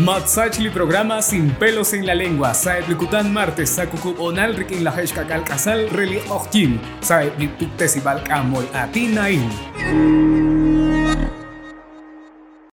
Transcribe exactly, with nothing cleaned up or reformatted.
Matsachli programa Sin pelos en la lengua. Saeb likutan martes sakukub onal rikin la heshka kalkasal reli ochtin. Saeb lipuk tesibal kamol atinain.